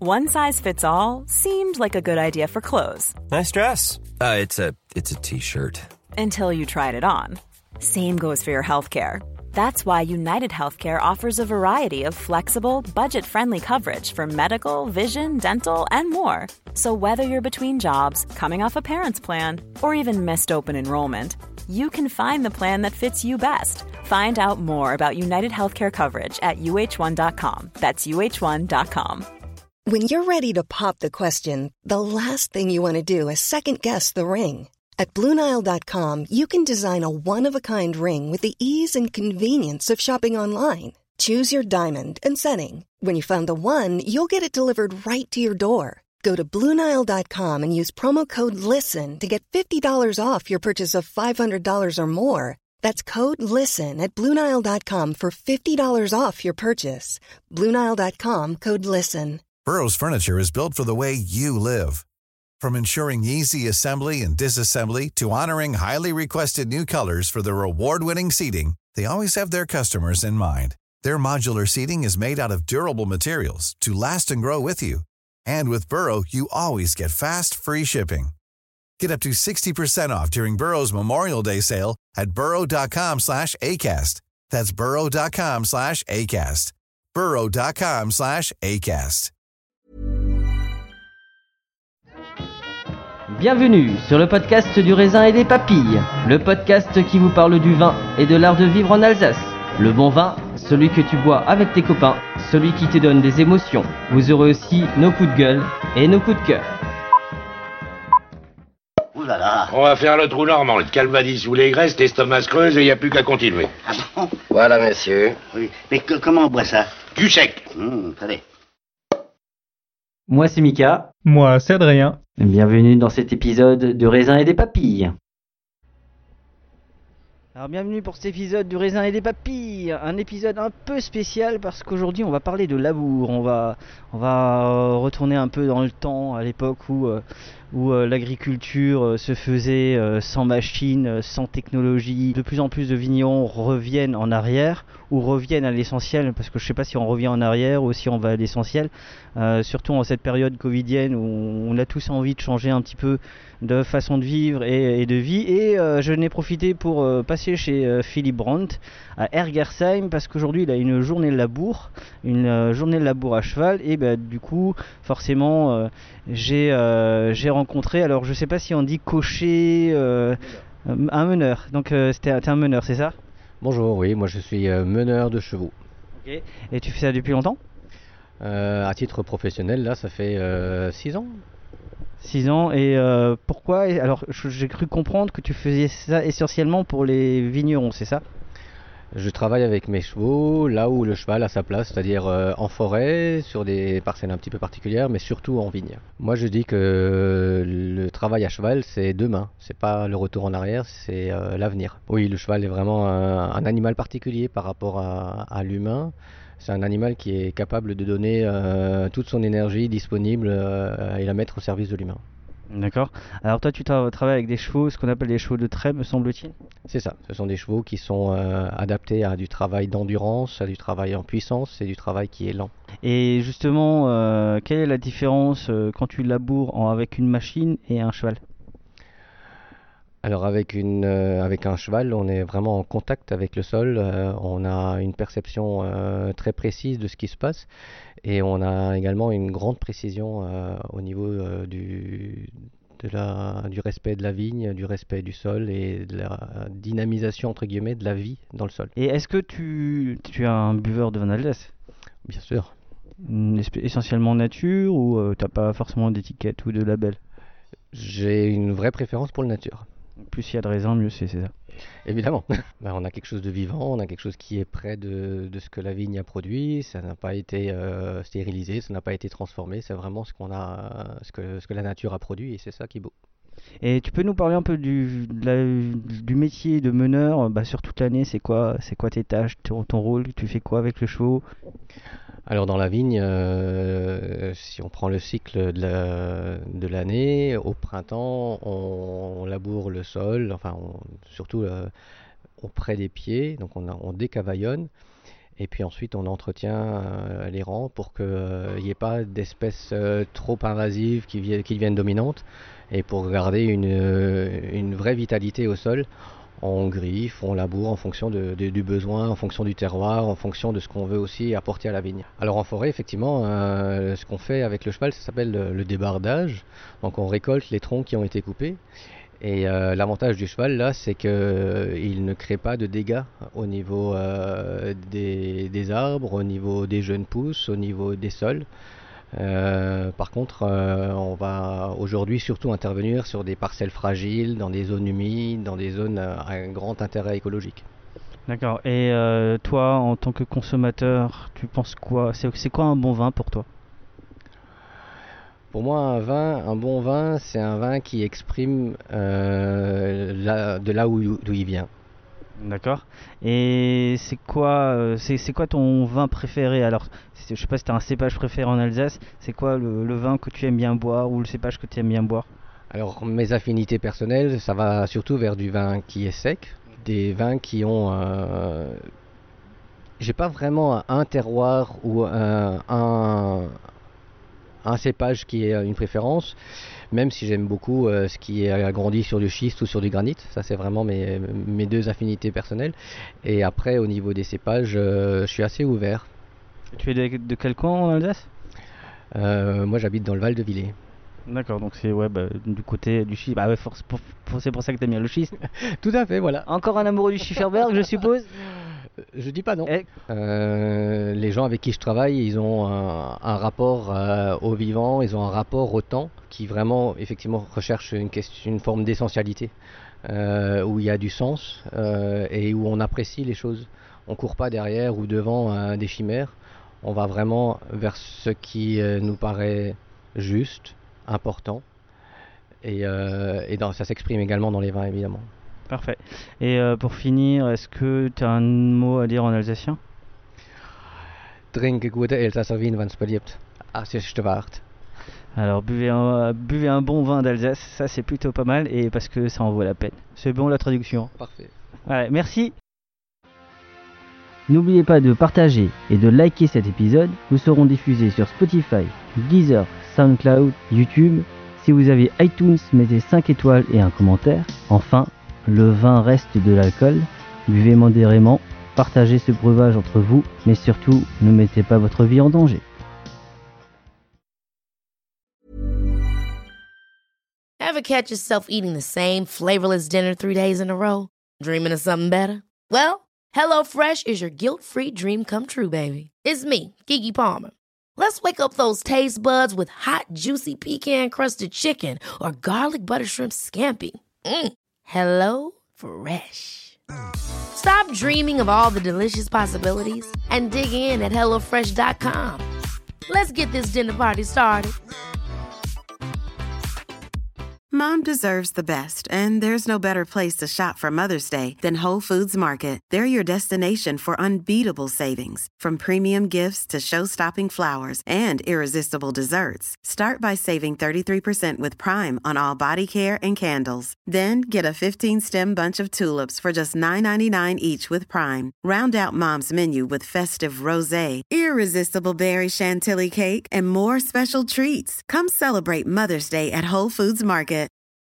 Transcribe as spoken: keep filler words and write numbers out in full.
One size fits all seemed like a good idea for clothes. Nice dress. Uh, it's a it's a t-shirt. Until you tried it on. Same goes for your healthcare. That's why United Healthcare offers a variety of flexible, budget-friendly coverage for medical, vision, dental, and more. So whether you're between jobs, coming off a parent's plan, or even missed open enrollment, you can find the plan that fits you best. Find out more about United Healthcare coverage at U H one dot com. That's U H one dot com. When you're ready to pop the question, the last thing you want to do is second-guess the ring. At Blue Nile dot com, you can design a one-of-a-kind ring with the ease and convenience of shopping online. Choose your diamond and setting. When you find the one, you'll get it delivered right to your door. Go to Blue Nile dot com and use promo code LISTEN to get fifty dollars off your purchase of five hundred dollars or more. That's code LISTEN at Blue Nile dot com for fifty dollars off your purchase. Blue Nile dot com, code LISTEN. Burrow's furniture is built for the way you live. From ensuring easy assembly and disassembly to honoring highly requested new colors for their award-winning seating, they always have their customers in mind. Their modular seating is made out of durable materials to last and grow with you. And with Burrow, you always get fast, free shipping. Get up to sixty percent off during Burrow's Memorial Day sale at burrow dot com slash ACAST. That's burrow dot com slash ACAST. burrow dot com slash ACAST. Bienvenue sur le podcast du raisin et des papilles, le podcast qui vous parle du vin et de l'art de vivre en Alsace. Le bon vin, celui que tu bois avec tes copains, celui qui te donne des émotions. Vous aurez aussi nos coups de gueule et nos coups de cœur. Ouh là là. On va faire le trou normand, le calvadis ou les graisses, l'estomac se creuse et il n'y a plus qu'à continuer. Ah bon? Voilà, monsieur. Oui. Mais que, comment on boit ça? Du sec. Hum, attendez. Moi c'est Mika. Moi c'est Adrien. Bienvenue dans cet épisode de Raisin et des papilles. Alors bienvenue pour cet épisode du Raisin et des papilles, un épisode un peu spécial parce qu'aujourd'hui on va parler de labour, on va, on va retourner un peu dans le temps, à l'époque où, euh, où euh, l'agriculture euh, se faisait euh, sans machine, euh, sans technologie. De plus en plus de vignerons reviennent en arrière ou reviennent à l'essentiel, parce que je ne sais pas si on revient en arrière ou si on va à l'essentiel, euh, surtout en cette période covidienne où on a tous envie de changer un petit peu de façon de vivre et, et de vie. Et euh, je n'ai profité pour euh, passer chez euh, Philippe Brandt à Ergersheim parce qu'aujourd'hui il a une journée de labour, une euh, journée de labour à cheval. Et bah, du coup, forcément, euh, j'ai, euh, j'ai rencontré, alors je sais pas si on dit cocher, euh, un meneur. Donc euh, c'était, t'es un meneur, c'est ça? Bonjour, oui, moi je suis euh, meneur de chevaux. Ok. Et tu fais ça depuis longtemps? euh, À titre professionnel, là, ça fait six ans. six ans, et euh, pourquoi? Alors j'ai cru comprendre que tu faisais ça essentiellement pour les vignerons, c'est ça? Je travaille avec mes chevaux là où le cheval a sa place, c'est-à-dire euh, en forêt, sur des parcelles un petit peu particulières, mais surtout en vigne. Moi je dis que le travail à cheval c'est demain, c'est pas le retour en arrière, c'est euh, l'avenir. Oui, le cheval est vraiment un, un animal particulier par rapport à, à l'humain. C'est un animal qui est capable de donner euh, toute son énergie disponible euh, et la mettre au service de l'humain. D'accord. Alors toi tu tra- travailles avec des chevaux, ce qu'on appelle des chevaux de trait, me semble-t-il? C'est ça, ce sont des chevaux qui sont euh, adaptés à du travail d'endurance, à du travail en puissance et du travail qui est lent. Et justement, euh, quelle est la différence euh, quand tu laboures en, avec une machine et un cheval? Alors avec, une, euh, avec un cheval, on est vraiment en contact avec le sol, euh, on a une perception euh, très précise de ce qui se passe et on a également une grande précision euh, au niveau euh, du, de la, du respect de la vigne, du respect du sol et de la dynamisation entre guillemets de la vie dans le sol. Et est-ce que tu, tu es un buveur de vin d'Alsace? Bien sûr. Essentiellement nature ou euh, t'as pas forcément d'étiquette ou de label? J'ai une vraie préférence pour le nature. Plus il y a de raisin, mieux c'est, c'est ça? Évidemment. Ben, on a quelque chose de vivant, on a quelque chose qui est près de, de ce que la vigne a produit, ça n'a pas été euh, stérilisé, ça n'a pas été transformé, c'est vraiment ce, qu'on a, ce, que, ce que la nature a produit et c'est ça qui est beau. Et tu peux nous parler un peu du, de la, du métier de meneur bah, sur toute l'année, c'est quoi, c'est quoi tes tâches, ton, ton rôle, tu fais quoi avec le chevaux? Alors dans la vigne, euh, si on prend le cycle de, la, de l'année, au printemps on, on laboure le sol, enfin on, surtout euh, auprès des pieds, donc on, a, on décavaillonne. Et puis ensuite, on entretient euh, les rangs pour qu'il n'y ait pas d'espèces euh, trop invasives qui, vi- qui deviennent dominantes. Et pour garder une, euh, une vraie vitalité au sol, on griffe, on laboure en fonction de, de, du besoin, en fonction du terroir, en fonction de ce qu'on veut aussi apporter à la vigne. Alors en forêt, effectivement, euh, ce qu'on fait avec le cheval, ça s'appelle le, le débardage. Donc on récolte les troncs qui ont été coupés. Et euh, l'avantage du cheval, là, c'est qu'il euh, ne crée pas de dégâts au niveau euh, des, des arbres, au niveau des jeunes pousses, au niveau des sols. Euh, par contre, euh, on va aujourd'hui surtout intervenir sur des parcelles fragiles, dans des zones humides, dans des zones euh, à un grand intérêt écologique. D'accord. Et euh, toi, en tant que consommateur, tu penses quoi? C'est, c'est quoi un bon vin pour toi? Pour moi, un vin, un bon vin, c'est un vin qui exprime euh, la, de là où, d'où il vient. D'accord. Et c'est quoi, euh, c'est, c'est quoi ton vin préféré? Alors, c'est- je sais pas si tu as un cépage préféré en Alsace. C'est quoi le, le vin que tu aimes bien boire ou le cépage que tu aimes bien boire? Alors, mes affinités personnelles, ça va surtout vers du vin qui est sec, des vins qui ont... Euh, j'ai pas vraiment un terroir ou un, un, un cépage qui est une préférence, même si j'aime beaucoup euh, ce qui est agrandi sur du schiste ou sur du granit. Ça, c'est vraiment mes, mes deux affinités personnelles. Et après, au niveau des cépages, euh, je suis assez ouvert. Tu es de, de quel coin en Alsace? Euh, moi, j'habite dans le Val de Villers. D'accord, donc c'est ouais, bah, du côté du schiste. Bah ouais, force, pour- pour- c'est pour ça que t'aimes bien le schiste. Tout à fait, voilà. Encore un amoureux du Schifferberg, je suppose. Je dis pas non. Eh, Euh, les gens avec qui je travaille, ils ont un, un rapport euh, au vivant, ils ont un rapport au temps qui vraiment, effectivement, recherche une, question, une forme d'essentialité, euh, où il y a du sens euh, et où on apprécie les choses. On court pas derrière ou devant euh, des chimères. On va vraiment vers ce qui euh, nous paraît juste, important. Et, euh, et dans, ça s'exprime également dans les vins, évidemment. Parfait. Et euh, pour finir, est-ce que tu as un mot à dire en alsacien? Trinke gute Elsasser Wien, wenn's beliebt. Ah, c'est waard. Alors buvez un, buvez un bon vin d'Alsace, ça c'est plutôt pas mal et parce que ça en vaut la peine. C'est bon la traduction. Parfait. Ouais, merci. N'oubliez pas de partager et de liker cet épisode. Nous serons diffusés sur Spotify, Deezer, SoundCloud, YouTube. Si vous avez iTunes, mettez cinq étoiles et un commentaire. Enfin, le vin reste de l'alcool. Buvez modérément, partagez ce breuvage entre vous, mais surtout, ne mettez pas votre vie en danger. Ever catch yourself eating the same flavorless dinner three days in a row? Dreaming of something better? Well, HelloFresh is your guilt-free dream come true, baby. It's me, Keke Palmer. Let's wake up those taste buds with hot, juicy pecan-crusted chicken or garlic butter shrimp scampi. Mm. Hello Fresh. Stop dreaming of all the delicious possibilities and dig in at hello fresh dot com. Let's get this dinner party started. Mom deserves the best, and there's no better place to shop for Mother's Day than Whole Foods Market. They're your destination for unbeatable savings, from premium gifts to show-stopping flowers and irresistible desserts. Start by saving thirty-three percent with Prime on all body care and candles. Then get a fifteen-stem bunch of tulips for just nine ninety-nine each with Prime. Round out Mom's menu with festive rosé, irresistible berry chantilly cake, and more special treats. Come celebrate Mother's Day at Whole Foods Market.